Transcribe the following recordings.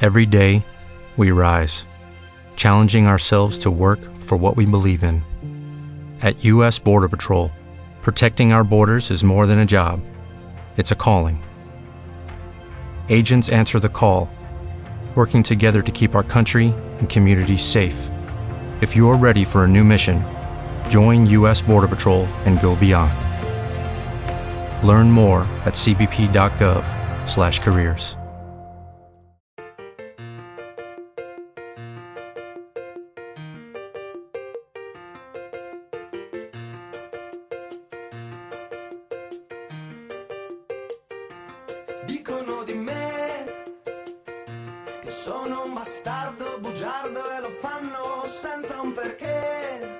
Every day, we rise, challenging ourselves to work for what we believe in. At U.S. Border Patrol, protecting our borders is more than a job. It's a calling. Agents answer the call, working together to keep our country and communities safe. If you are ready for a new mission, join U.S. Border Patrol and go beyond. Learn more at cbp.gov/careers. Dicono di me che sono un bastardo bugiardo e lo fanno senza un perché.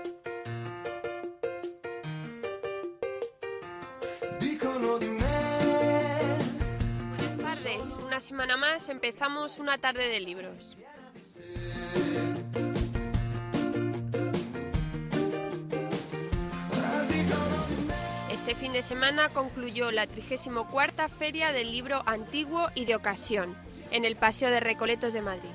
Dicono di me. Buenas tardes, una semana más empezamos una tarde de libros. Este fin de semana concluyó la 34ª Feria del Libro Antiguo y de Ocasión, en el Paseo de Recoletos de Madrid.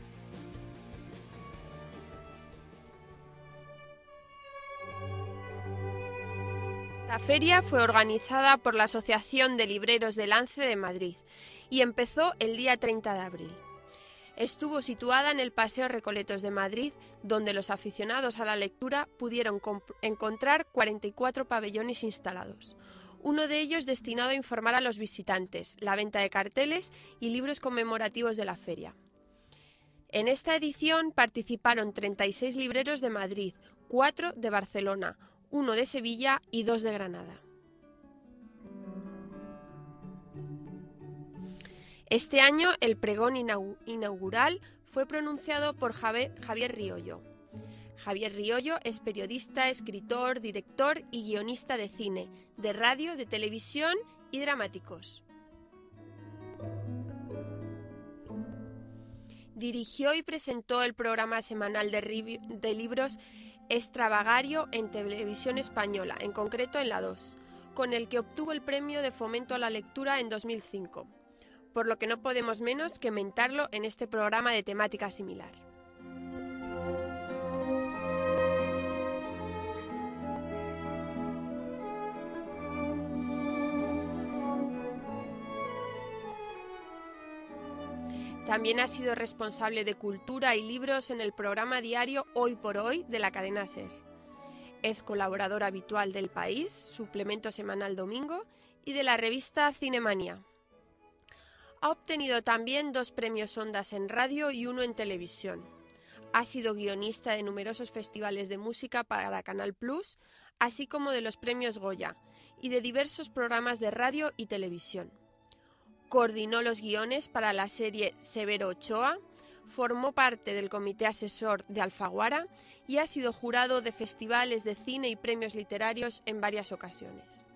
La feria fue organizada por la Asociación de Libreros de Lance de Madrid y empezó el día 30 de abril. Estuvo situada en el Paseo Recoletos de Madrid, donde los aficionados a la lectura pudieron encontrar 44 pabellones instalados. Uno de ellos destinado a informar a los visitantes, la venta de carteles y libros conmemorativos de la feria. En esta edición participaron 36 libreros de Madrid, 4 de Barcelona, 1 de Sevilla y 2 de Granada. Este año el pregón inaugural fue pronunciado por Javier Riollo. Javier Riollo es periodista, escritor, director y guionista de cine, de radio, de televisión y dramáticos. Dirigió y presentó el programa semanal de libros Extravagario en Televisión Española, en concreto en la 2, con el que obtuvo el premio de fomento a la lectura en 2005. Por lo que no podemos menos que mentarlo en este programa de temática similar. También ha sido responsable de cultura y libros en el programa diario Hoy por Hoy de la cadena SER. Es colaborador habitual del País, suplemento semanal Domingo, y de la revista Cinemanía. Ha obtenido también 2 premios Ondas en radio y 1 en televisión. Ha sido guionista de numerosos festivales de música para Canal Plus, así como de los premios Goya, y de diversos programas de radio y televisión. Coordinó los guiones para la serie Severo Ochoa, formó parte del comité asesor de Alfaguara y ha sido jurado de festivales de cine y premios literarios en varias ocasiones.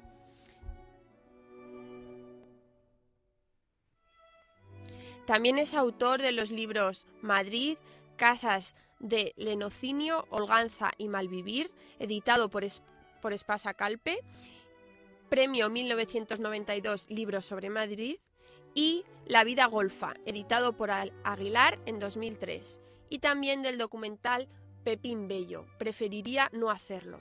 También es autor de los libros Madrid, Casas de Lenocinio, Holganza y Malvivir, editado por Espasa Calpe, Premio 1992 Libros sobre Madrid, y La vida golfa, editado por Aguilar en 2003, y también del documental Pepín Bello, preferiría no hacerlo.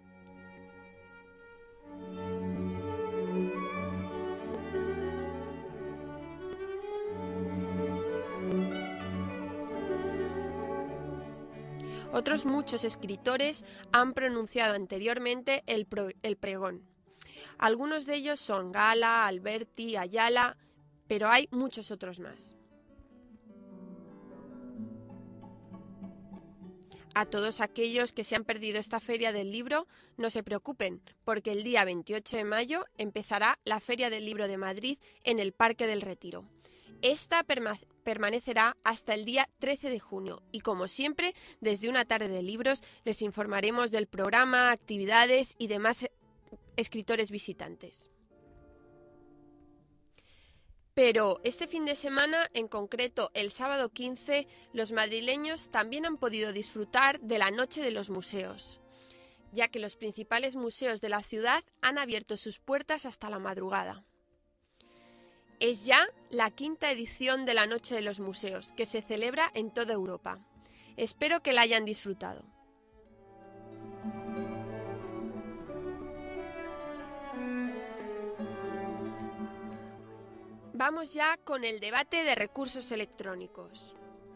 Otros muchos escritores han pronunciado anteriormente el pregón. Algunos de ellos son Gala, Alberti, Ayala, pero hay muchos otros más. A todos aquellos que se han perdido esta feria del libro, no se preocupen, porque el día 28 de mayo empezará la Feria del Libro de Madrid en el Parque del Retiro. Esta permanecerá hasta el día 13 de junio y, como siempre, desde una tarde de libros les informaremos del programa, actividades y demás escritores visitantes. Pero este fin de semana, en concreto el sábado 15, los madrileños también han podido disfrutar de la Noche de los Museos, ya que los principales museos de la ciudad han abierto sus puertas hasta la madrugada. Es ya la 5ª edición de la Noche de los Museos, que se celebra en toda Europa. Espero que la hayan disfrutado. Vamos ya con el debate de recursos electrónicos.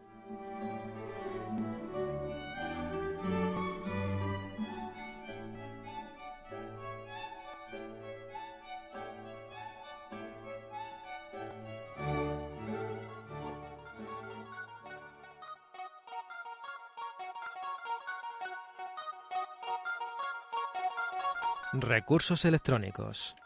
Recursos electrónicos.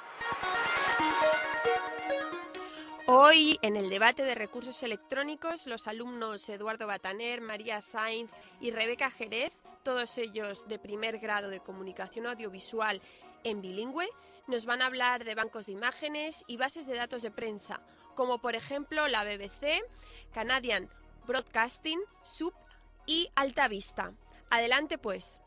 Hoy, en el debate de recursos electrónicos, los alumnos Eduardo Bataner, María Sainz y Rebeca Jerez, todos ellos de primer grado de comunicación audiovisual en bilingüe, nos van a hablar de bancos de imágenes y bases de datos de prensa, como por ejemplo la BBC, Canadian Broadcasting, SUB y Alta Vista. Adelante pues.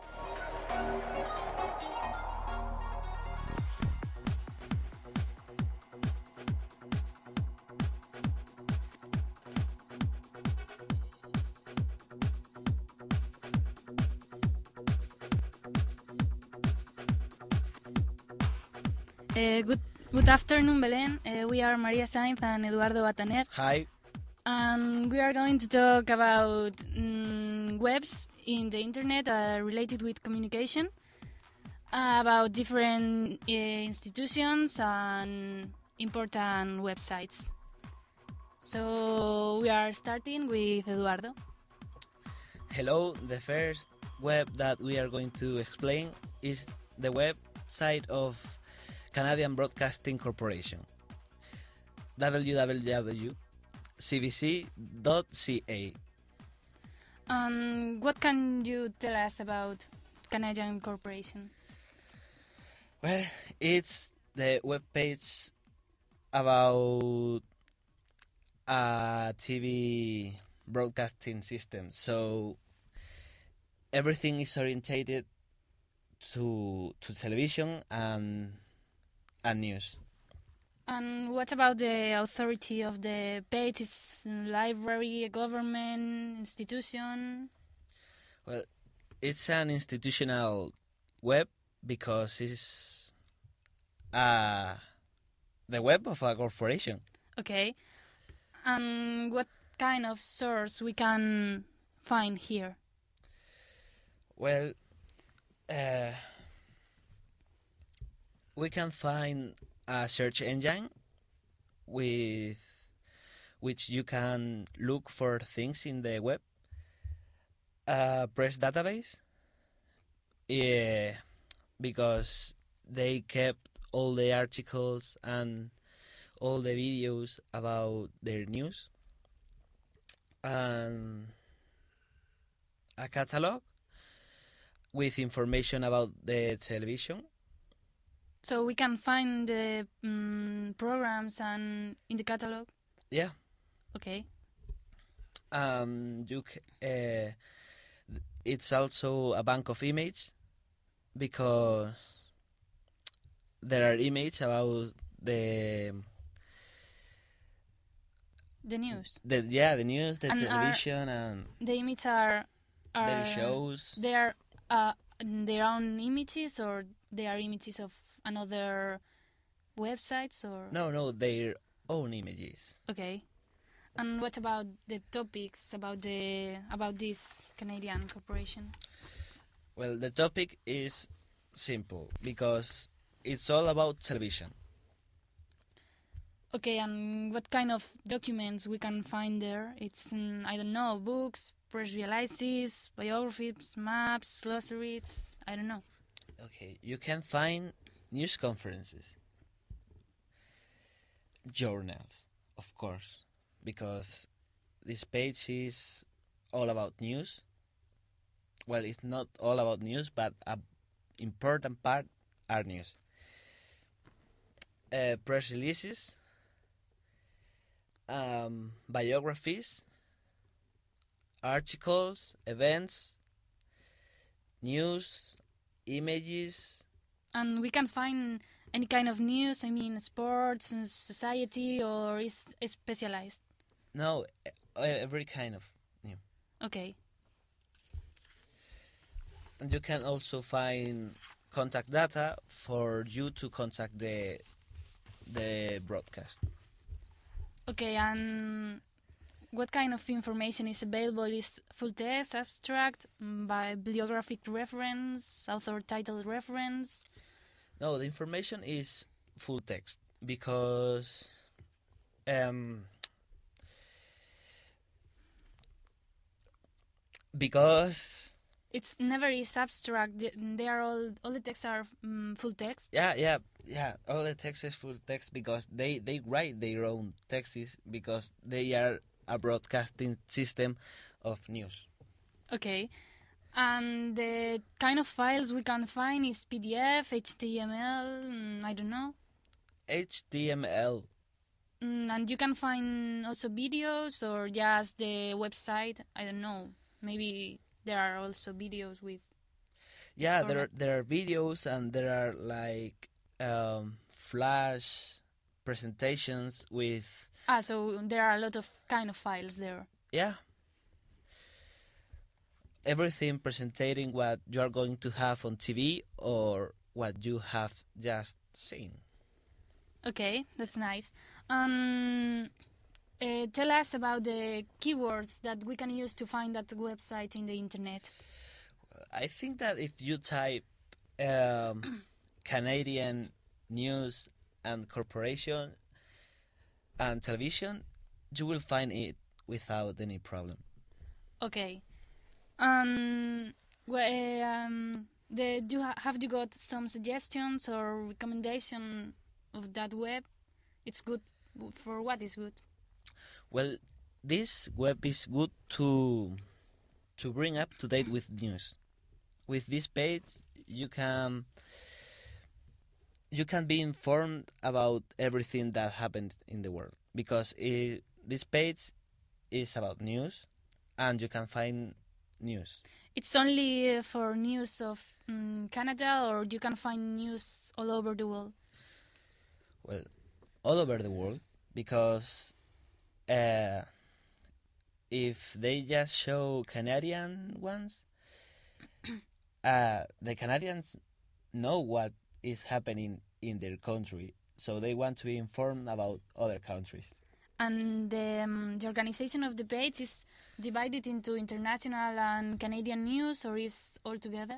Good afternoon, Belén. We are María Sainz and Eduardo Bataner. Hi. And we are going to talk about webs in the internet related with communication, about different institutions and important websites. So we are starting with Eduardo. Hello. The first web that we are going to explain is the website of Canadian Broadcasting Corporation, www.cbc.ca. What can you tell us about Canadian Corporation? Well, it's the web page about a TV broadcasting system. So everything is orientated to television and news. And what about the authority of the page? Is library, a government institution? Well, it's an institutional web because it's the web of a corporation. Okay. And what kind of source we can find here? Well, we can find a search engine with which you can look for things in the web. Press database, because they kept all the articles and all the videos about their news. And a catalog with information about the television. So we can find the programs and in the catalog? Yeah. Okay. It's also a bank of image because there are images about the news. The news, the and television, and the images are their shows. They are their own images, or they are images of another websites, or no, their own images. Okay. And what about the topics about this Canadian corporation? Well, the topic is simple because it's all about television. Okay, and what kind of documents we can find there? It's I don't know, books, press releases, biographies, maps, glossaries. I don't know. Okay, you can find news conferences, journals, of course, because this page is all about news. Well, it's not all about news, but an important part are news. Press releases, biographies, articles, events, news, images. And we can find any kind of news? I mean, sports and society, or is specialized? No, every kind of new. Okay. And you can also find contact data for you to contact the broadcast. Okay, and what kind of information is available? Is full text, abstract, bibliographic reference, author title reference? No, the information is full text because because It's never is abstract. They are all the texts are full text. yeah. All the text is full text because they write their own texts because they are a broadcasting system of news. Okay. And the kind of files we can find is PDF, HTML, I don't know. HTML. And you can find also videos or just the website. I don't know. Maybe there are also videos with. Yeah, format. there are videos and there are like flash presentations with So there are a lot of kind of files there. everything presenting what you are going to have on TV or what you have just seen. Okay, that's nice. Tell us about the keywords that we can use to find that website in the internet. I think that if you type Canadian news and corporation and television, you will find it without any problem. Okay. Have you got some suggestions or recommendation of that web? It's good for what is good? Well, this web is good to bring up to date with news. With this page, you can be informed about everything that happened in the world because this page is about news, and you can find news. It's only for news of Canada, or you can find news all over the world? Well, all over the world, because if they just show Canadian ones, the Canadians know what is happening in their country, so they want to be informed about other countries. And the organization of the page is divided into international and Canadian news, or is all together?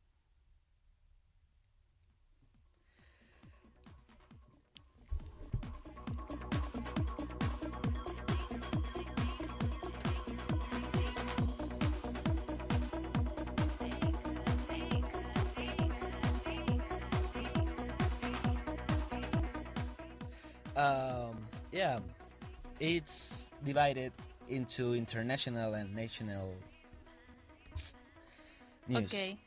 Yeah, it's divided into international and national news. Okay.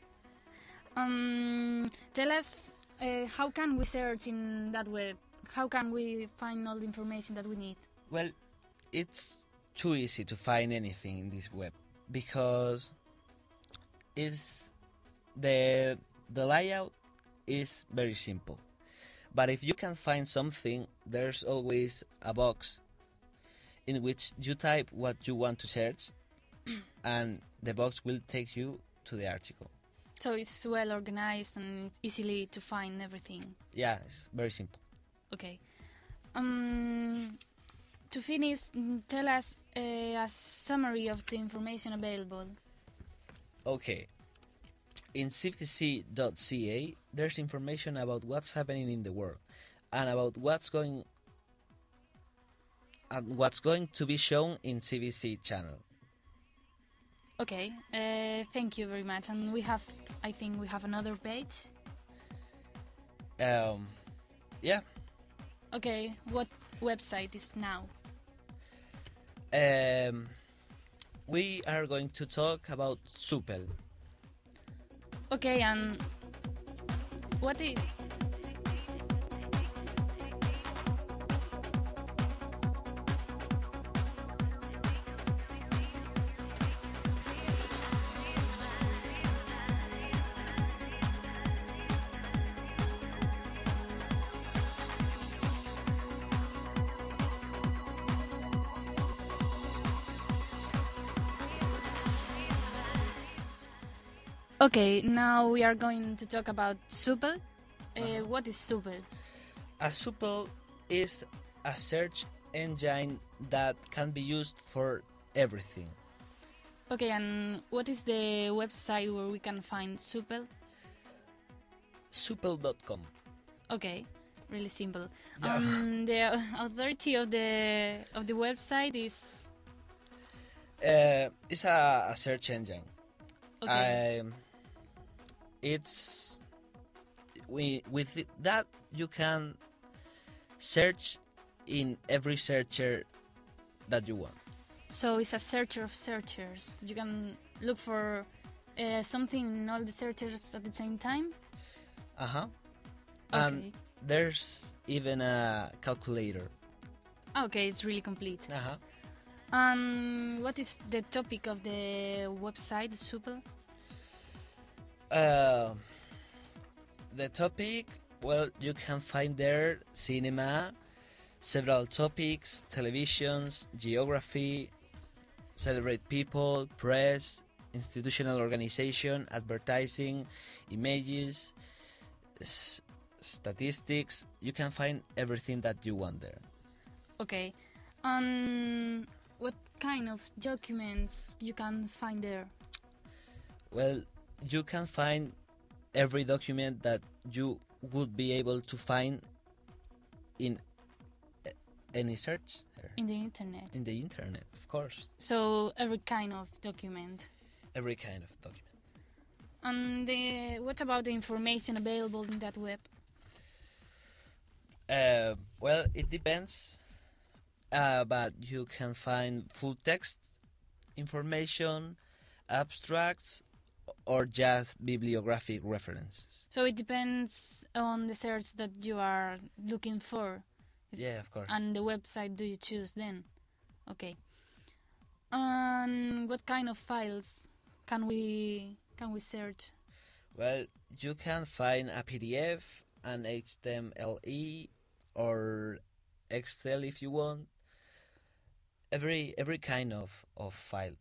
Tell us, how can we search in that web? How can we find all the information that we need? Well, it's too easy to find anything in this web because it's the layout is very simple. But if you can find something, there's always a box in which you type what you want to search, and the box will take you to the article. So it's well organized and it's easily to find everything. Yeah, it's very simple. Okay. To finish, tell us a summary of the information available. Okay. In cvc.ca, there's information about what's happening in the world and about what's going to be shown in CBC channel. Okay, thank you very much. And I think we have another page. Yeah. Okay, what website is now? We are going to talk about Supel. Okay, and what is? Okay, now we are going to talk about Supel. What is Supel? A Supel is a search engine that can be used for everything. Okay, and what is the website where we can find Supel? Supel.com. Okay, really simple. Yeah. The authority of the website is It's a search engine. okay. With that you can search in every searcher that you want. So it's a searcher of searchers. You can look for something in all the searchers at the same time. Uh-huh. Okay. And there's even a calculator. Okay, it's really complete. Uh-huh. What is the topic of the website, Supel? The topic, well, you can find there cinema, several topics, televisions, geography, celebrate people, press, institutional organization, advertising, images, statistics. You can find everything that you want there. Okay. What kind of documents you can find there? Well, you can find every document that you would be able to find in any search In the internet. in the internet, of course. So every kind of document. Every kind of document. And what about the information available in that web? Well, it depends, but you can find full text information, abstracts, or just bibliographic references. So it depends on the search that you are looking for. Yeah, of course. And the website do you choose then? Okay. And what kind of files can we search? Well, you can find a PDF, an HTML or Excel if you want. Every kind of file.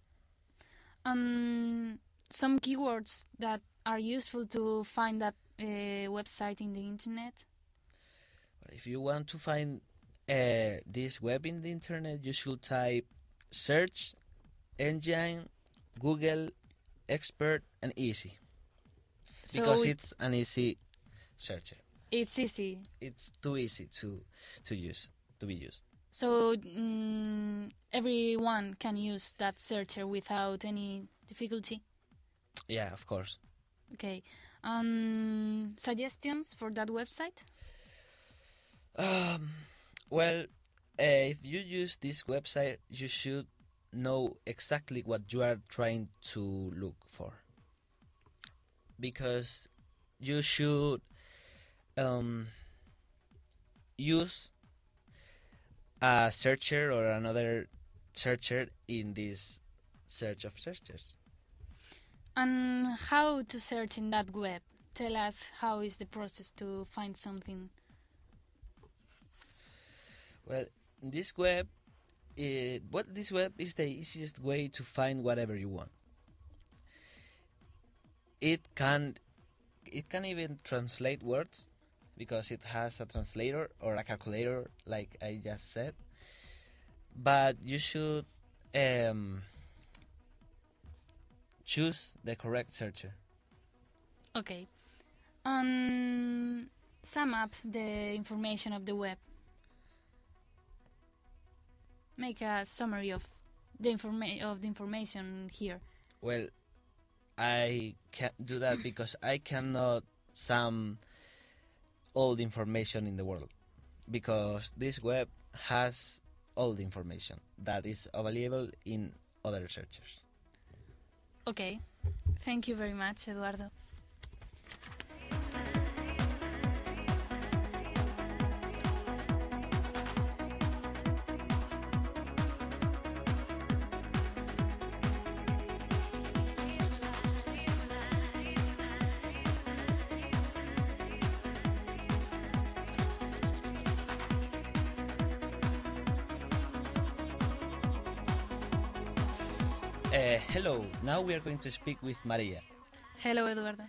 Some keywords that are useful to find that website in the internet. If you want to find this web in the internet, you should type search engine, Google, expert, and easy. So Because it's an easy searcher. it's easy. It's too easy to use, to be used. So everyone can use that searcher without any difficulty. Yeah, of course. Okay. Suggestions for that website? Well, if you use this website, you should know exactly what you are trying to look for. Because you should use a searcher or another searcher in this search of searchers. And how to search in that web? Tell us how is the process to find something. Well, this web is the easiest way to find whatever you want. It can even translate words because it has a translator or a calculator, like I just said. But you should choose the correct searcher. Okay. Sum up the information of the web. Make a summary of the information here. Well, I can't do that because I cannot sum all the information in the world, because this web has all the information that is available in other searchers. Okay. Thank you very much, Eduardo. Hello, now we are going to speak with Maria. Hello, Eduardo.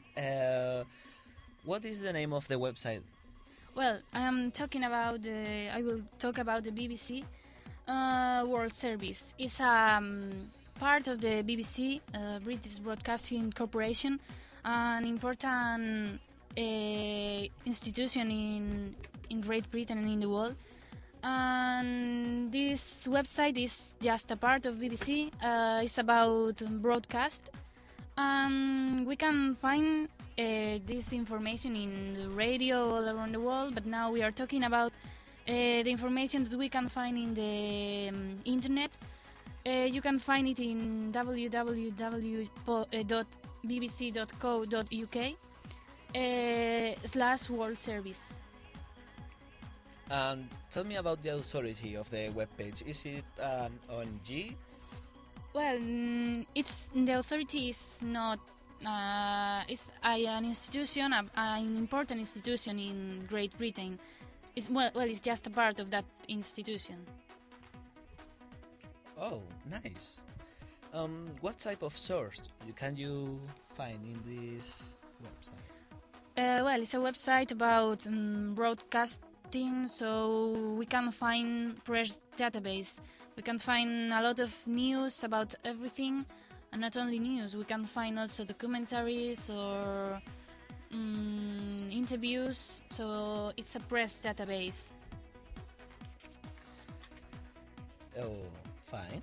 What is the name of the website? Well, I will talk about the BBC World Service. It's part of the BBC, British Broadcasting Corporation, an important institution in Great Britain and in the world. And this website is just a part of BBC. It's about broadcast. We can find this information in the radio all around the world, but now we are talking about the information that we can find in the internet. You can find it in www.bbc.co.uk/World Service. And tell me about the authority of the webpage. Is it an ONG? Well, it's the authority is not. It's an institution, an important institution in Great Britain. It's just a part of that institution. Oh, nice. What type of source can you find in this website? Well, it's a website about broadcasting, so we can find press database. We can find a lot of news about everything, and not only news. We can find also documentaries or interviews. So it's a press database. Oh, fine.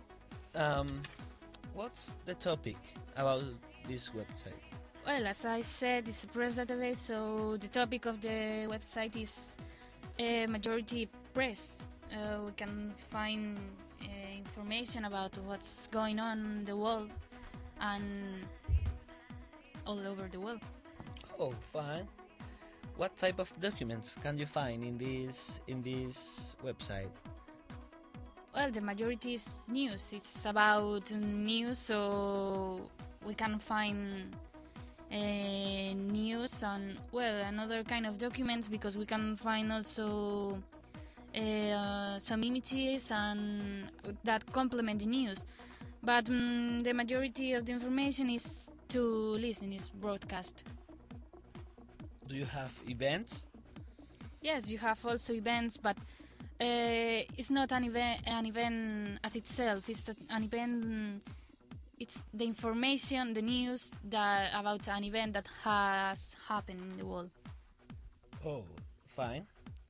What's the topic about this website? Well, as I said, it's a press database, so the topic of the website is majority press. We can find information about what's going on in the world and all over the world. Oh, fine. What type of documents can you find in this website? Well, the majority is news. It's about news, so we can find news and another kind of documents, because we can find also some images and that complement the news. But the majority of the information is to listen, is broadcast. Do you have events? Yes, you have also events, but it's not an event as itself. It's an event. It's the information, the news about an event that has happened in the world. Oh, fine.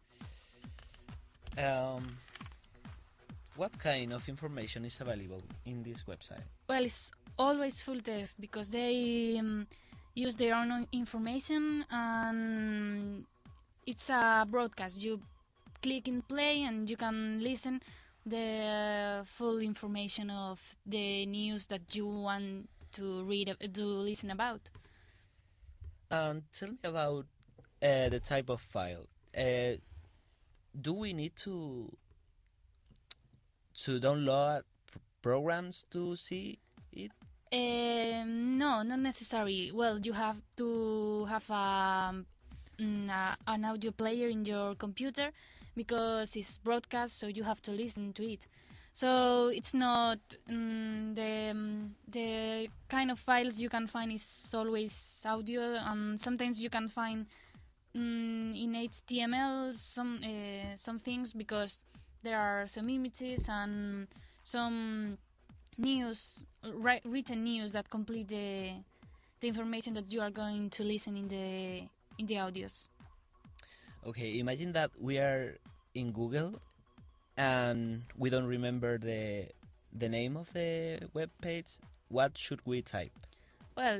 What kind of information is available in this website? Well, it's always full text, because they use their own information, and it's a broadcast. You click and play, and you can listen the full information of the news that you want to listen about. And tell me about the type of file. Do we need to download programs to see it? No, not necessary. Well, you have to have an audio player in your computer, because it's broadcast, so you have to listen to it. So it's not the kind of files you can find is always audio, and sometimes you can find in HTML some things, because there are some images and some news, written news, that complete the information that you are going to listen in the audios. Okay, imagine that we are in Google and we don't remember the name of the web page. What should we type? Well,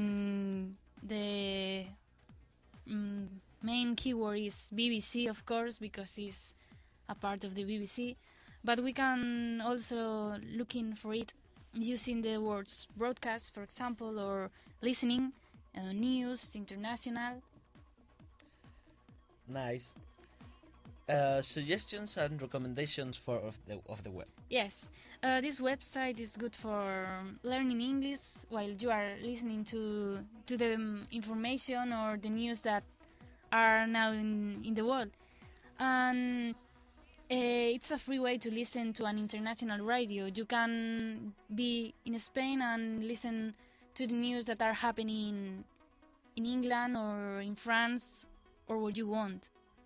the main keyword is BBC, of course, because it's a part of the BBC. But we can also looking for it using the words broadcast, for example, or listening, news, international. Nice. Suggestions and recommendations of the web. Yes, this website is good for learning English while you are listening to the information or the news that are now in the world. And it's a free way to listen to an international radio. You can be in Spain and listen to the news that are happening in England or in France or what you want.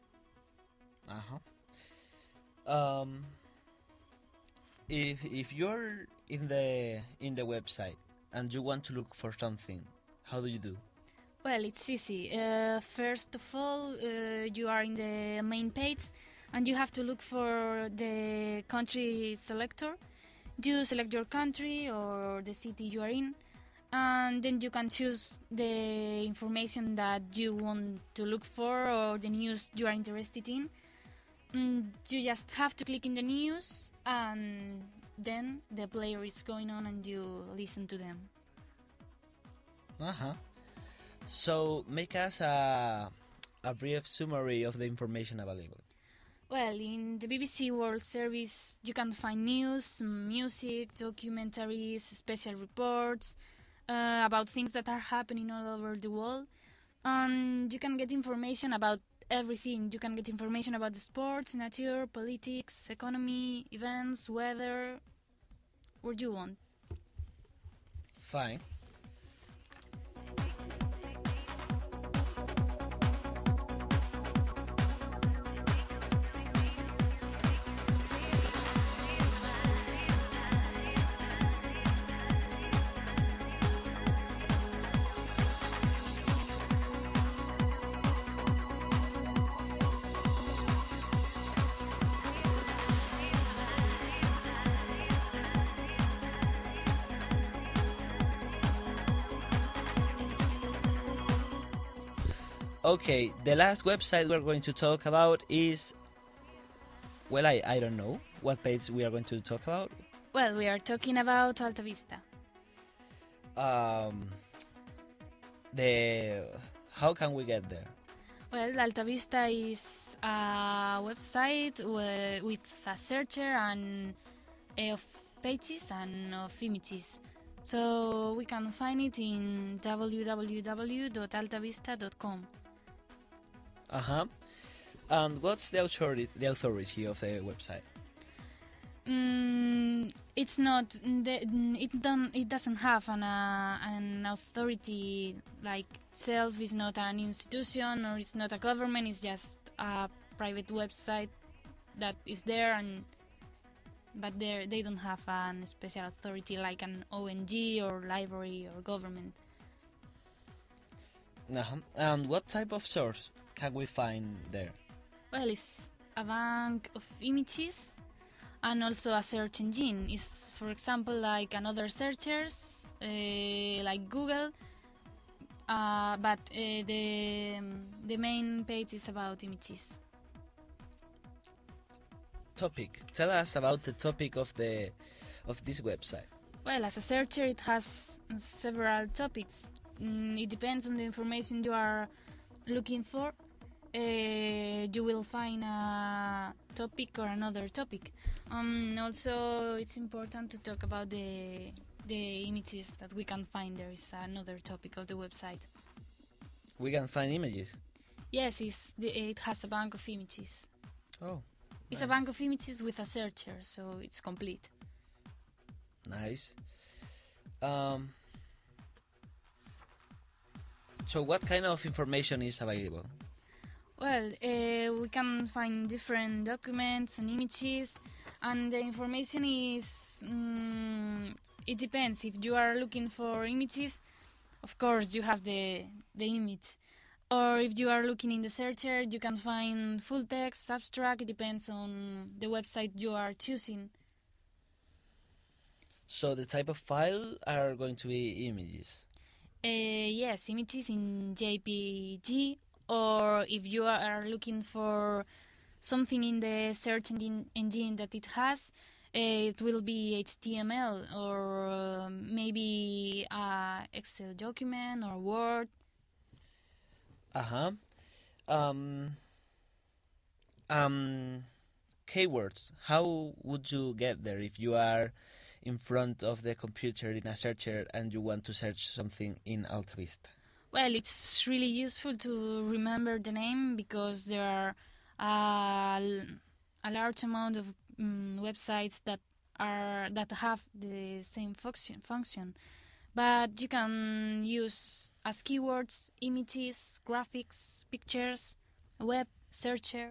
If you're in the website and you want to look for something, how do you do? Well, it's easy. First of all, you are in the main page and you have to look for the country selector. You select your country or the city you are in, and then you can choose the information that you want to look for or the news you are interested in. You just have to click in the news and then the player is going on and you listen to them. So make us a brief summary of the information available. Well, in the BBC World Service, you can find news, music, documentaries, special reports about things that are happening all over the world. And you can get information about everything. You can get information about the sports, nature, politics, economy, events, weather, what you want. Fine. Okay, the last website we're going to talk about is... Well, I don't know what page we are going to talk about. Well, we are talking about Alta Vista. How can we get there? Well, Alta Vista is a website with a searcher and of pages and of images. So we can find it in www.altavista.com. And what's the authority of the website? It's not. It doesn't have an authority like itself. It's not an institution or it's not a government. It's just a private website that is there, but they don't have an special authority like an ONG or library or government. And what type of source can we find there? Well, it's a bank of images and also a search engine. It's, for example, like another searchers like Google, but the main page is about images. Topic. Tell us about the topic of this website. Well, as a searcher, it has several topics. It depends on the information you are looking for. You will find a topic or another topic. Also, it's important to talk about the images that we can find. There is another topic of the website. We can find images? Yes, it has a bank of images. Oh, it's nice. A bank of images with a searcher, so it's complete. Nice. So what kind of information is available? Well, we can find different documents and images, and the information is... it depends. If you are looking for images, of course you have the image. Or if you are looking in the searcher, you can find full text, abstract. It depends on the website you are choosing. So the type of file are going to be images? Yes, images in JPG. Or if you are looking for something in the search engine that it has, it will be HTML or maybe a Excel document or Word. Keywords. How would you get there if you are in front of the computer in a searcher and you want to search something in Alta Vista? Well, it's really useful to remember the name because there are a large amount of websites that have the same function. but you can use as keywords images, graphics, pictures, web, searcher.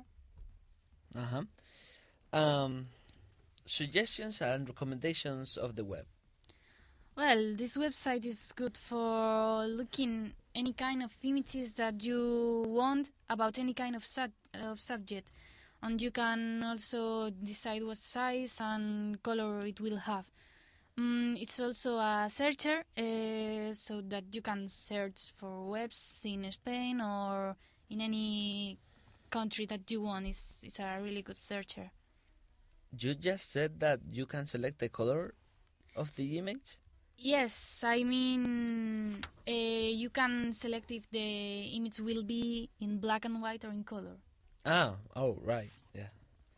Suggestions and recommendations of the web. Well, this website is good for looking any kind of images that you want about any kind of subject, and you can also decide what size and color it will have. It's also a searcher, so that you can search for webs in Spain or in any country that you want. It's a really good searcher. You just said that you can select the color of the image? Yes, I mean, you can select if the image will be in black and white or in color. Oh, right, yeah.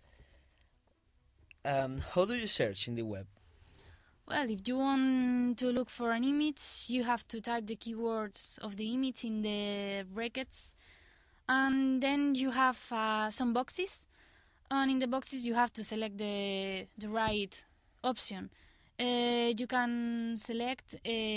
How do you search in the web? Well, if you want to look for an image, you have to type the keywords of the image in the brackets, and then you have some boxes, and in the boxes you have to select the right option. You can select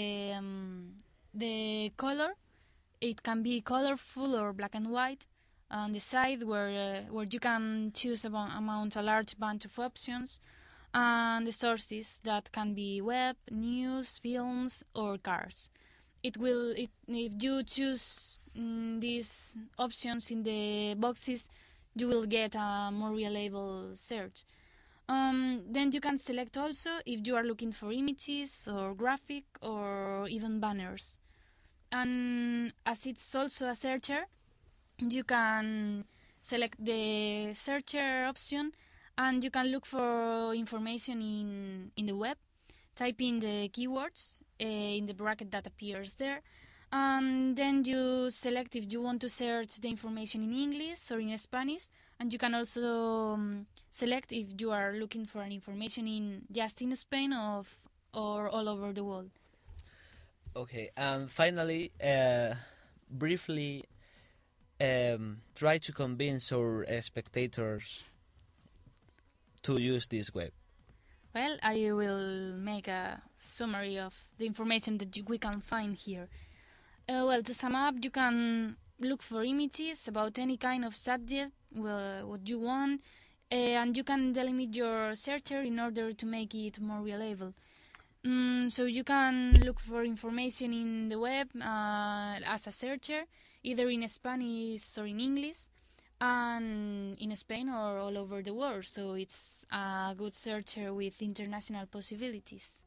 the color. It can be colorful or black and white. On the side where you can choose a large bunch of options, and the sources that can be web, news, films, or cars. If you choose these options in the boxes, you will get a more reliable search. Then you can select also if you are looking for images or graphic or even banners. And as it's also a searcher, you can select the searcher option and you can look for information in the web, type in the keywords in the bracket that appears there, and then you select if you want to search the information in English or in Spanish, and you can also select if you are looking for an information in just in Spain or all over the world. Okay, and finally, briefly, try to convince our spectators to use this web. Well, I will make a summary of the information that we can find here. Well, to sum up, you can look for images about any kind of subject, what you want, and you can delimit your searcher in order to make it more reliable. So you can look for information in the web as a searcher, either in Spanish or in English, and in Spain or all over the world. So it's a good searcher with international possibilities.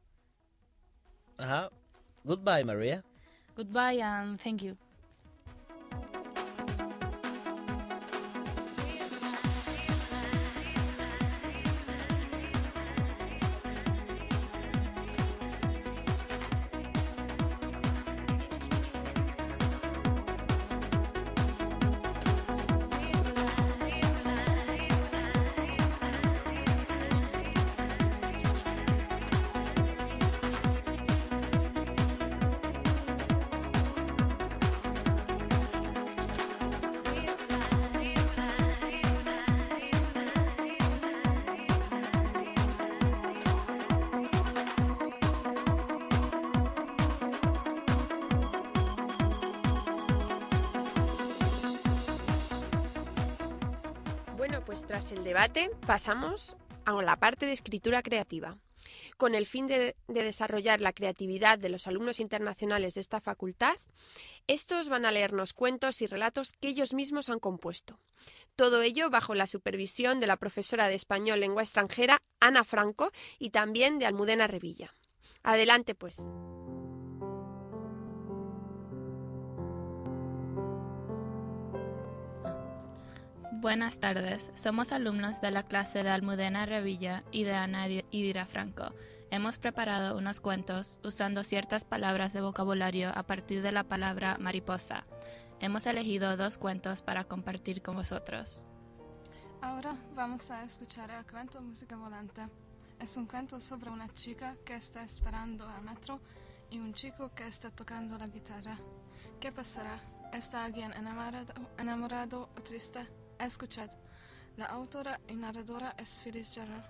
Goodbye, Maria. Goodbye and thank you. Bueno, pues tras el debate pasamos a la parte de escritura creativa. Con el fin de desarrollar la creatividad de los alumnos internacionales de esta facultad, estos van a leernos cuentos y relatos que ellos mismos han compuesto. Todo ello bajo la supervisión de la profesora de español lengua extranjera, Ana Franco, y también de Almudena Revilla. Adelante, pues. Buenas tardes, somos alumnos de la clase de Almudena Revilla y de Ana Idira Franco. Hemos preparado unos cuentos usando ciertas palabras de vocabulario a partir de la palabra mariposa. Hemos elegido 2 cuentos para compartir con vosotros. Ahora vamos a escuchar el cuento Música Volante. Es un cuento sobre una chica que está esperando al metro y un chico que está tocando la guitarra. ¿Qué pasará? ¿Está alguien enamorado o triste? Escuchad. La autora y narradora es Phyllis Gerard.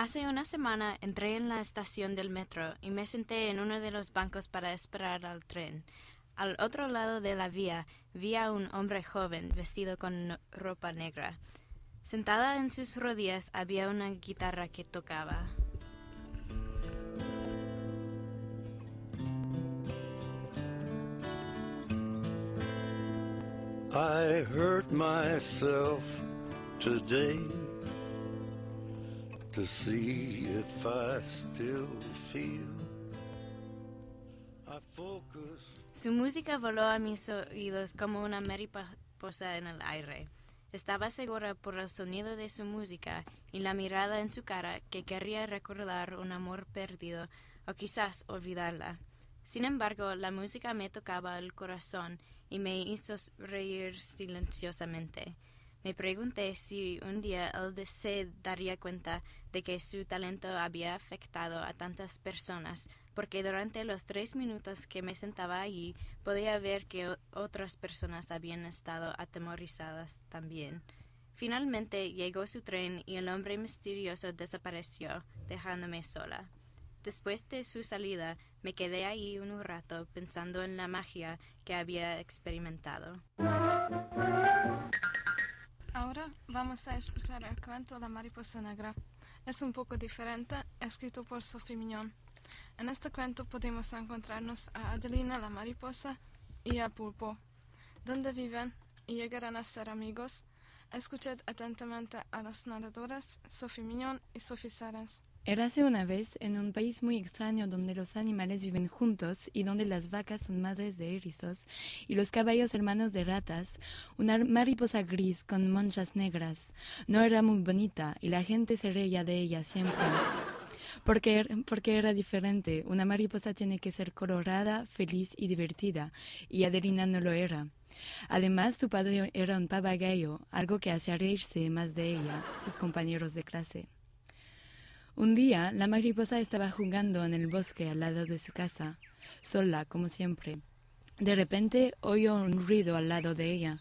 Hace una semana entré en la estación del metro y me senté en uno de los bancos para esperar al tren. Al otro lado de la vía vi a un hombre joven vestido con ropa negra. Sentada en sus rodillas había una guitarra que tocaba. I hurt myself today to see if I still feel. I focus. Su música voló a mis oídos como una mariposa en el aire. Estaba segura por el sonido de su música y la mirada en su cara que quería recordar un amor perdido o quizás olvidarla. Sin embargo, la música me tocaba el corazón y me hizo reír silenciosamente. Me pregunté si un día él se daría cuenta de que su talento había afectado a tantas personas, porque durante los 3 minutos que me sentaba allí podía ver que otras personas habían estado atemorizadas también. Finalmente llegó su tren y el hombre misterioso desapareció, dejándome sola. Después de su salida, me quedé ahí un rato pensando en la magia que había experimentado. Ahora vamos a escuchar el cuento La mariposa negra. Es un poco diferente, escrito por Sophie Mignon. En este cuento podemos encontrarnos a Adelina la mariposa y a Pulpo, donde viven y llegarán a ser amigos. Escuchad atentamente a las narradoras Sophie Mignon y Sophie Sarens. Érase una vez en un país muy extraño donde los animales viven juntos y donde las vacas son madres de erizos y los caballos hermanos de ratas, una mariposa gris con manchas negras. No era muy bonita y la gente se reía de ella siempre. Porque era diferente. Una mariposa tiene que ser colorada, feliz y divertida, y Adelina no lo era. Además, su padre era un papagayo, algo que hacía reírse más de ella, sus compañeros de clase. Un día, la mariposa estaba jugando en el bosque al lado de su casa, sola, como siempre. De repente, oyó un ruido al lado de ella.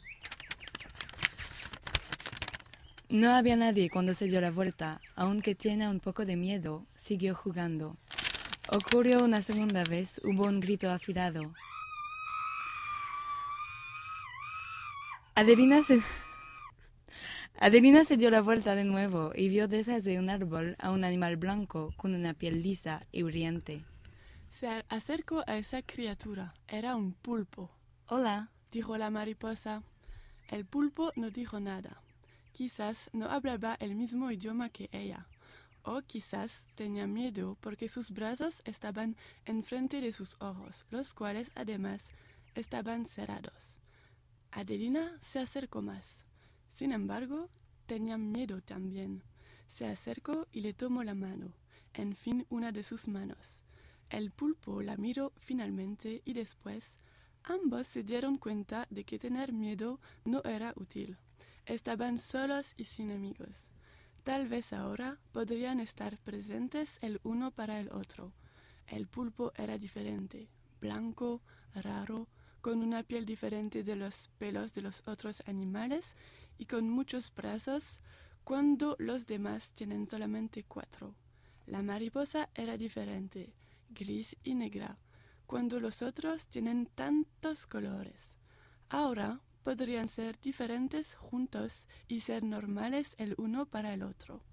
No había nadie cuando se dio la vuelta. Aunque tenía un poco de miedo, siguió jugando. Ocurrió una segunda vez, hubo un grito afilado. Adelina se dio la vuelta de nuevo y vio detrás de un árbol a un animal blanco con una piel lisa y brillante. Se acercó a esa criatura. Era un pulpo. «Hola», dijo la mariposa. El pulpo no dijo nada. Quizás no hablaba el mismo idioma que ella, o quizás tenía miedo porque sus brazos estaban enfrente de sus ojos, los cuales además estaban cerrados. Adelina se acercó más. Sin embargo, tenía miedo también. Se acercó y le tomó la mano, en fin, una de sus manos. El pulpo la miró finalmente y después ambos se dieron cuenta de que tener miedo no era útil. Estaban solos y sin amigos. Tal vez ahora podrían estar presentes el uno para el otro. El pulpo era diferente, blanco, raro, con una piel diferente de los pelos de los otros animales y con muchos brazos cuando los demás tienen solamente 4. La mariposa era diferente, gris y negra, cuando los otros tienen tantos colores. Ahora podrían ser diferentes juntos y ser normales el uno para el otro.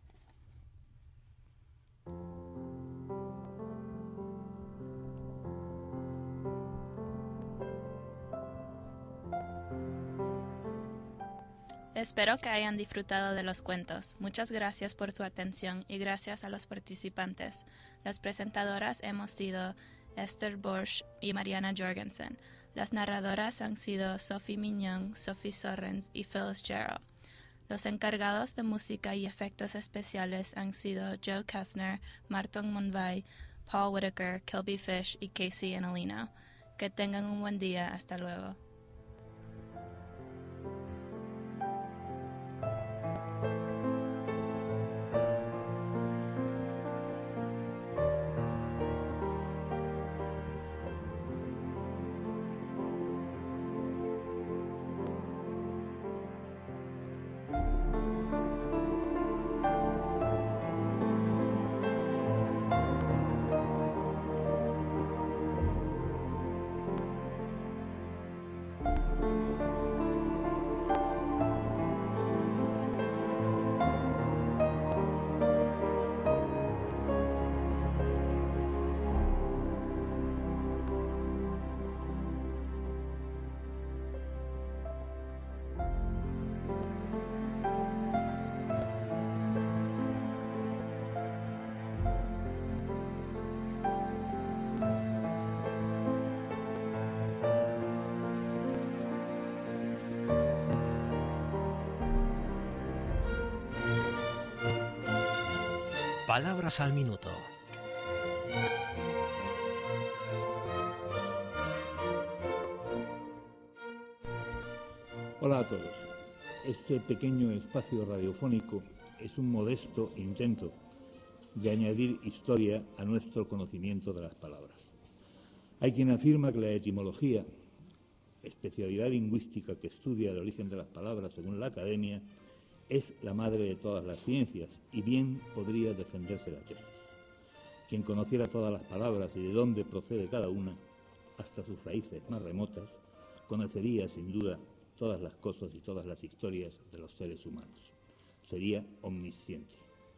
Espero que hayan disfrutado de los cuentos. Muchas gracias por su atención y gracias a los participantes. Las presentadoras hemos sido Esther Borsch y Mariana Jorgensen. Las narradoras han sido Sophie Mignon, Sophie Sarens y Phyllis Jarrell. Los encargados de música y efectos especiales han sido Joe Kastner, Martin Monvay, Paul Whitaker, Kilby Fish y Casey Enolino. Que tengan un buen día. Hasta luego. Palabras al minuto. Hola a todos. Este pequeño espacio radiofónico es un modesto intento de añadir historia a nuestro conocimiento de las palabras. Hay quien afirma que la etimología, especialidad lingüística que estudia el origen de las palabras según la academia, es la madre de todas las ciencias y bien podría defenderse la tesis. Quien conociera todas las palabras y de dónde procede cada una, hasta sus raíces más remotas, conocería sin duda todas las cosas y todas las historias de los seres humanos. Sería omnisciente.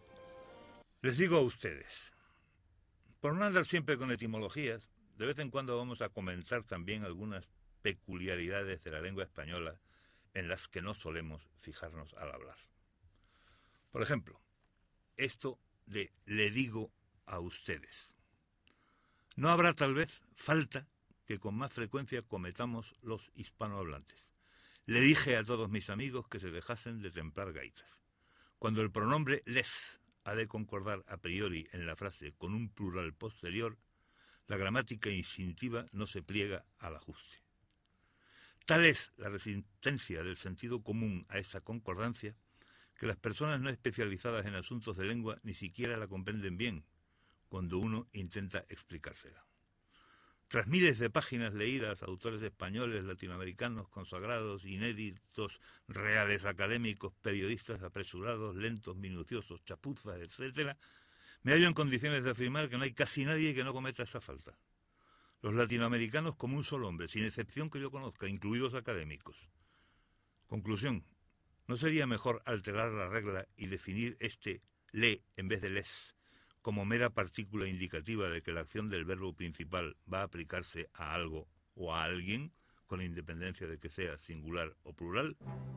Les digo a ustedes, por no andar siempre con etimologías, de vez en cuando vamos a comentar también algunas peculiaridades de la lengua española en las que no solemos fijarnos al hablar. Por ejemplo, esto de le digo a ustedes. No habrá tal vez falta que con más frecuencia cometamos los hispanohablantes. Le dije a todos mis amigos que se dejasen de templar gaitas. Cuando el pronombre les ha de concordar a priori en la frase con un plural posterior, la gramática instintiva no se pliega al ajuste. Tal es la resistencia del sentido común a esta concordancia que las personas no especializadas en asuntos de lengua ni siquiera la comprenden bien cuando uno intenta explicársela. Tras miles de páginas leídas, autores españoles, latinoamericanos, consagrados, inéditos, reales académicos, periodistas apresurados, lentos, minuciosos, chapuzas, etc., me hallo en condiciones de afirmar que no hay casi nadie que no cometa esta falta. Los latinoamericanos como un solo hombre, sin excepción que yo conozca, incluidos académicos. Conclusión, ¿no sería mejor alterar la regla y definir este le en vez de les como mera partícula indicativa de que la acción del verbo principal va a aplicarse a algo o a alguien, con independencia de que sea singular o plural?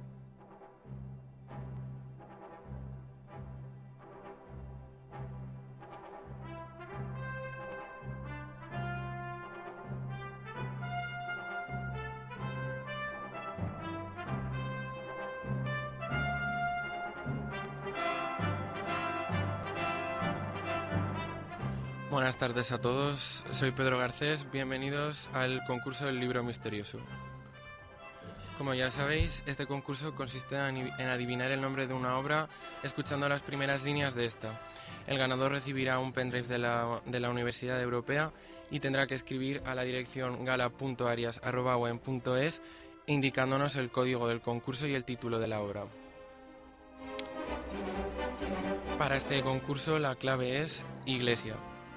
Buenas tardes a todos, soy Pedro Garcés, bienvenidos al concurso del libro misterioso. Como ya sabéis, este concurso consiste en adivinar el nombre de una obra escuchando las primeras líneas de esta. El ganador recibirá un pendrive de la Universidad Europea y tendrá que escribir a la dirección gala.arias@uen.es indicándonos el código del concurso y el título de la obra. Para este concurso la clave es iglesia.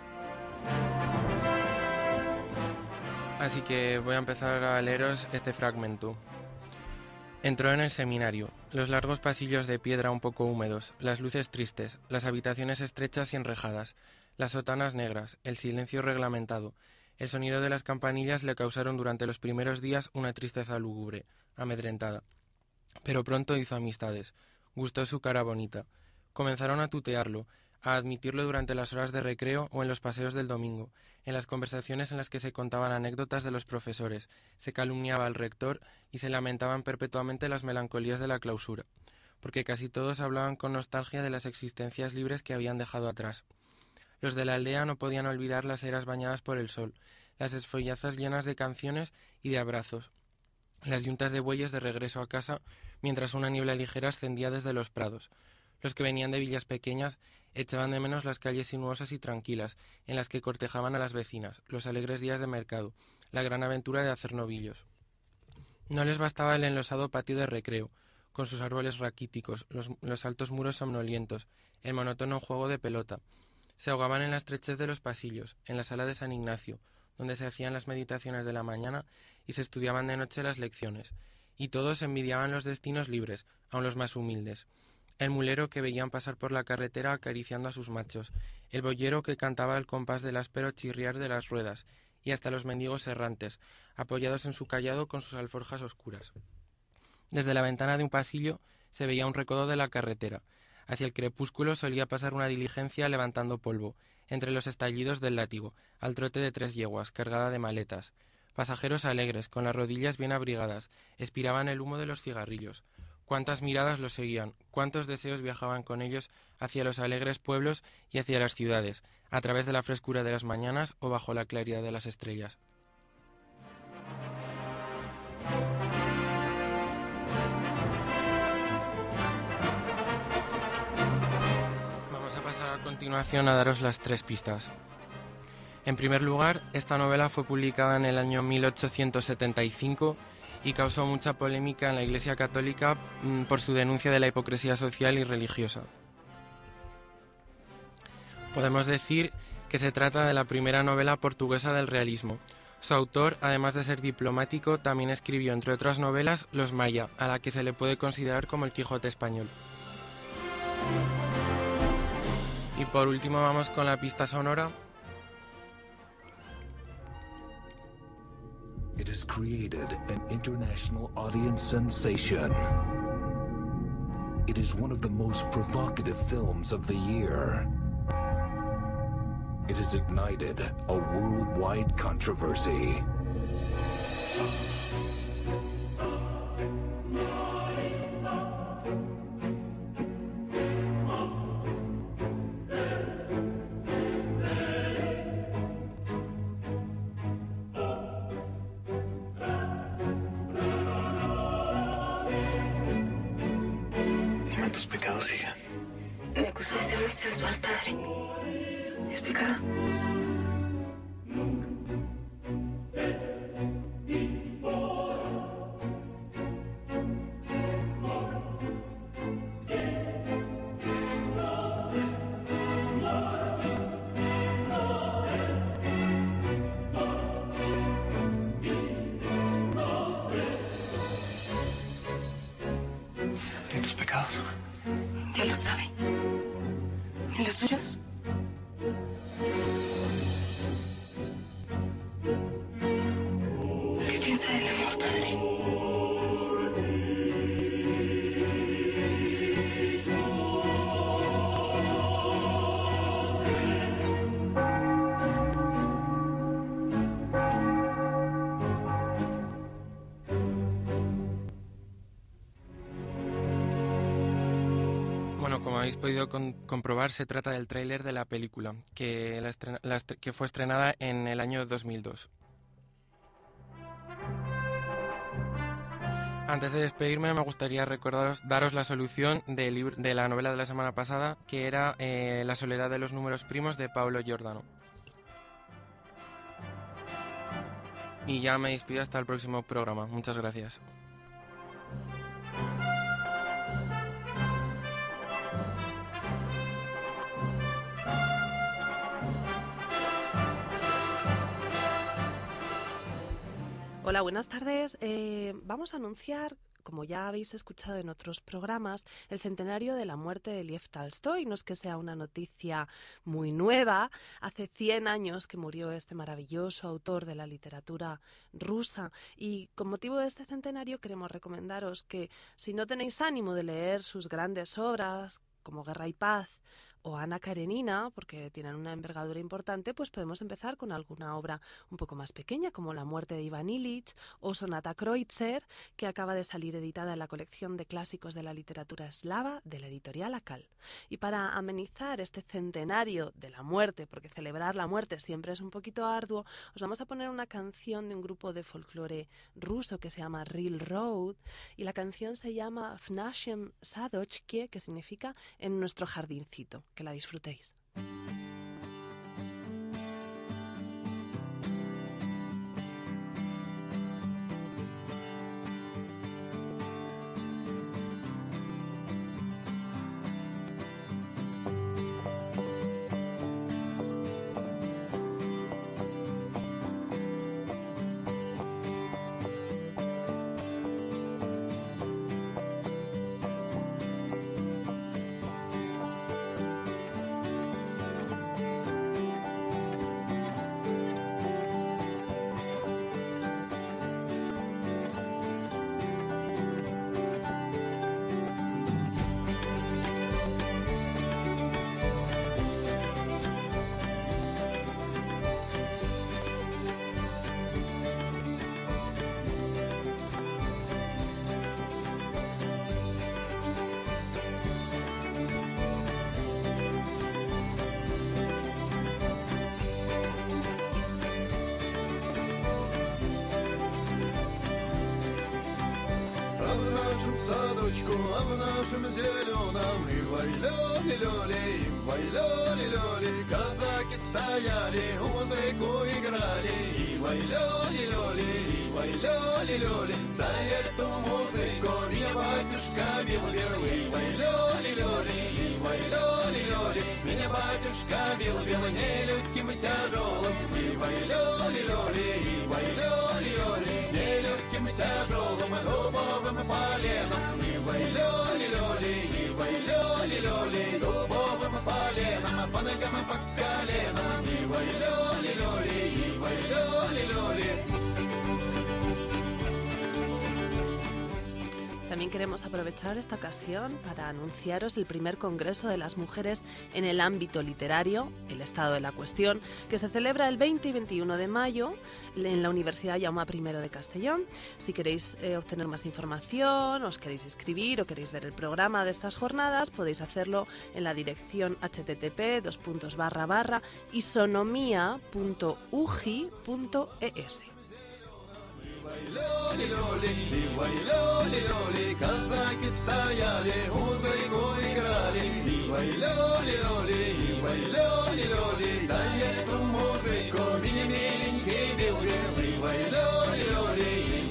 Así que voy a empezar a leeros este fragmento. Entró en el seminario, los largos pasillos de piedra un poco húmedos, las luces tristes, las habitaciones estrechas y enrejadas, las sotanas negras, el silencio reglamentado, el sonido de las campanillas le causaron durante los primeros días una tristeza lúgubre, amedrentada. Pero pronto hizo amistades, gustó su cara bonita, comenzaron a tutearlo, a admitirlo durante las horas de recreo o en los paseos del domingo, en las conversaciones en las que se contaban anécdotas de los profesores, se calumniaba al rector y se lamentaban perpetuamente las melancolías de la clausura, porque casi todos hablaban con nostalgia de las existencias libres que habían dejado atrás. Los de la aldea no podían olvidar las eras bañadas por el sol, las esfollazas llenas de canciones y de abrazos, las yuntas de bueyes de regreso a casa mientras una niebla ligera ascendía desde los prados. Los que venían de villas pequeñas echaban de menos las calles sinuosas y tranquilas, en las que cortejaban a las vecinas, los alegres días de mercado, la gran aventura de hacer novillos. No les bastaba el enlosado patio de recreo, con sus árboles raquíticos, los altos muros somnolientos, el monótono juego de pelota. Se ahogaban en la estrechez de los pasillos, en la sala de San Ignacio, donde se hacían las meditaciones de la mañana y se estudiaban de noche las lecciones, y todos envidiaban los destinos libres, aun los más humildes. El mulero que veían pasar por la carretera acariciando a sus machos, el boyero que cantaba al compás del áspero chirriar de las ruedas, y hasta los mendigos errantes, apoyados en su cayado con sus alforjas oscuras. Desde la ventana de un pasillo se veía un recodo de la carretera. Hacia el crepúsculo solía pasar una diligencia levantando polvo, entre los estallidos del látigo, al trote de 3 yeguas, cargada de maletas. Pasajeros alegres, con las rodillas bien abrigadas, expiraban el humo de los cigarrillos. cuántas miradas los seguían, cuántos deseos viajaban con ellos hacia los alegres pueblos y hacia las ciudades, a través de la frescura de las mañanas o bajo la claridad de las estrellas. Vamos a pasar a continuación a daros las 3 pistas. En primer lugar, esta novela fue publicada en el año 1875 y causó mucha polémica en la Iglesia Católica por su denuncia de la hipocresía social y religiosa. Podemos decir que se trata de la primera novela portuguesa del realismo. Su autor, además de ser diplomático, también escribió, entre otras novelas, Los Maya, a la que se le puede considerar como el Quijote español. Y por último vamos con la pista sonora. It has created an international audience sensation. It is one of the most provocative films of the year. It has ignited a worldwide controversy. Dime tus pecados, hija. Me acusó de ser muy sensual, padre. ¿Es pecado? ¿Y tus pecados? Ya lo sabe. ¿Y los suyos? ¿Qué piensa del amor, padre? Bueno, como habéis podido comprobar, se trata del tráiler de la película, que fue estrenada en el año 2002. Antes de despedirme, me gustaría daros la solución de la novela de la semana pasada, que era La soledad de los números primos, de Paolo Giordano. Y ya me despido hasta el próximo programa. Muchas gracias. Hola, buenas tardes. Vamos a anunciar, como ya habéis escuchado en otros programas, el centenario de la muerte de Lev Tolstói. No es que sea una noticia muy nueva. Hace 100 años que murió este maravilloso autor de la literatura rusa. Y con motivo de este centenario queremos recomendaros que, si no tenéis ánimo de leer sus grandes obras, como Guerra y Paz o Ana Karenina, porque tienen una envergadura importante, pues podemos empezar con alguna obra un poco más pequeña, como La muerte de Iván Ilich o Sonata Kreutzer, que acaba de salir editada en la colección de clásicos de la literatura eslava de la editorial Akal. Y para amenizar este centenario de la muerte, porque celebrar la muerte siempre es un poquito arduo, os vamos a poner una canción de un grupo de folclore ruso que se llama Real Road, y la canción se llama В нашем садочке, que significa en nuestro jardincito. Que la disfrutéis. ручку, а в нашем зеленом и вай-лёли-лёли, вай-лёли-лёли. Казаки стояли, музыку играли, и вай-лёли-лёли, и вай-лёли-лёли. За эту музыку меня батюшка бил первый, вай-лёли-лёли, и вай-лёли-лёли. Меня батюшка бил нелегким и тяжелым, и вай-лёли-лёли, и вай-лёли-лёли. Нелегким и тяжелым, дубовым поленом, и вай-лёли-лёли, и вай-лёли-лёли. Дубовым поленом, по ногам и по коленам, и вай-лёли-лёли, и вай-лёли-лёли. También queremos aprovechar esta ocasión para anunciaros el primer Congreso de las Mujeres en el ámbito literario, el estado de la cuestión, que se celebra el 20 y 21 de mayo en la Universidad Jaume I de Castellón. Si queréis obtener más información, os queréis inscribir o queréis ver el programa de estas jornadas, podéis hacerlo en la dirección http://isonomia.ugi.es. Казаки стояли, музыку играли, и вай-лёли-лёли, за эту музыку меня миленький бил, и вай-лёли-лёли,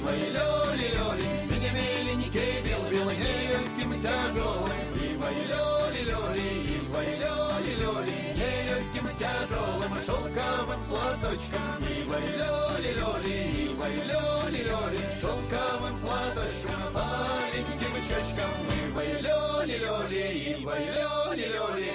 меня миленький бил, нелегким и тяжелым, и вай-лёли-лёли, нелегким и тяжелым шелковым платочком, и вай-лёли-лёли, шелковым платочком, маленьким щечком, и вай-лёли-лёли, вай-лёли-лёли.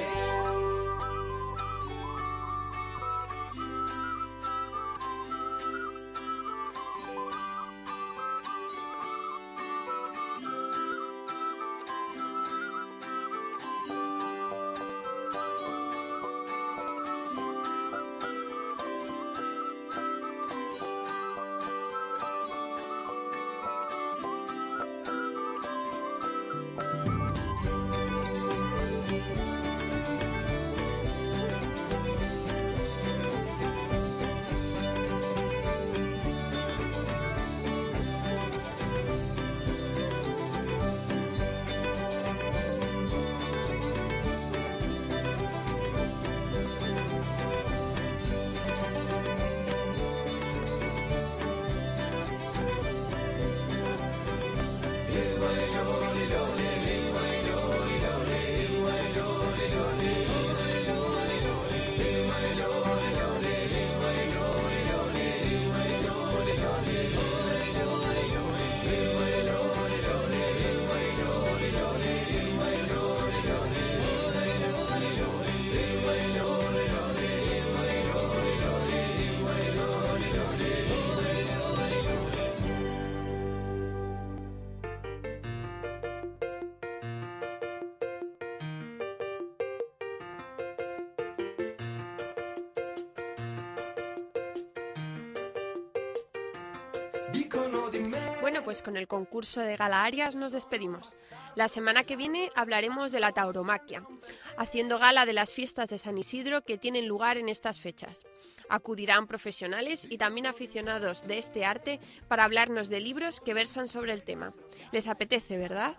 Bueno, pues con el concurso de Gala Arias nos despedimos. La semana que viene hablaremos de la tauromaquia, haciendo gala de las fiestas de San Isidro que tienen lugar en estas fechas. Acudirán profesionales y también aficionados de este arte para hablarnos de libros que versan sobre el tema. ¿Les apetece, verdad?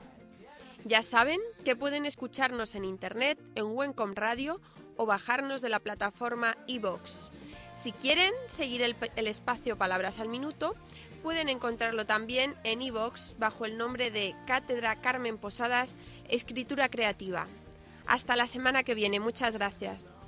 Ya saben que pueden escucharnos en internet, en Wencom Radio o bajarnos de la plataforma iVoox. Si quieren seguir el espacio Palabras al Minuto, pueden encontrarlo también en iVoox bajo el nombre de Cátedra Carmen Posadas Escritura Creativa. Hasta la semana que viene. Muchas gracias.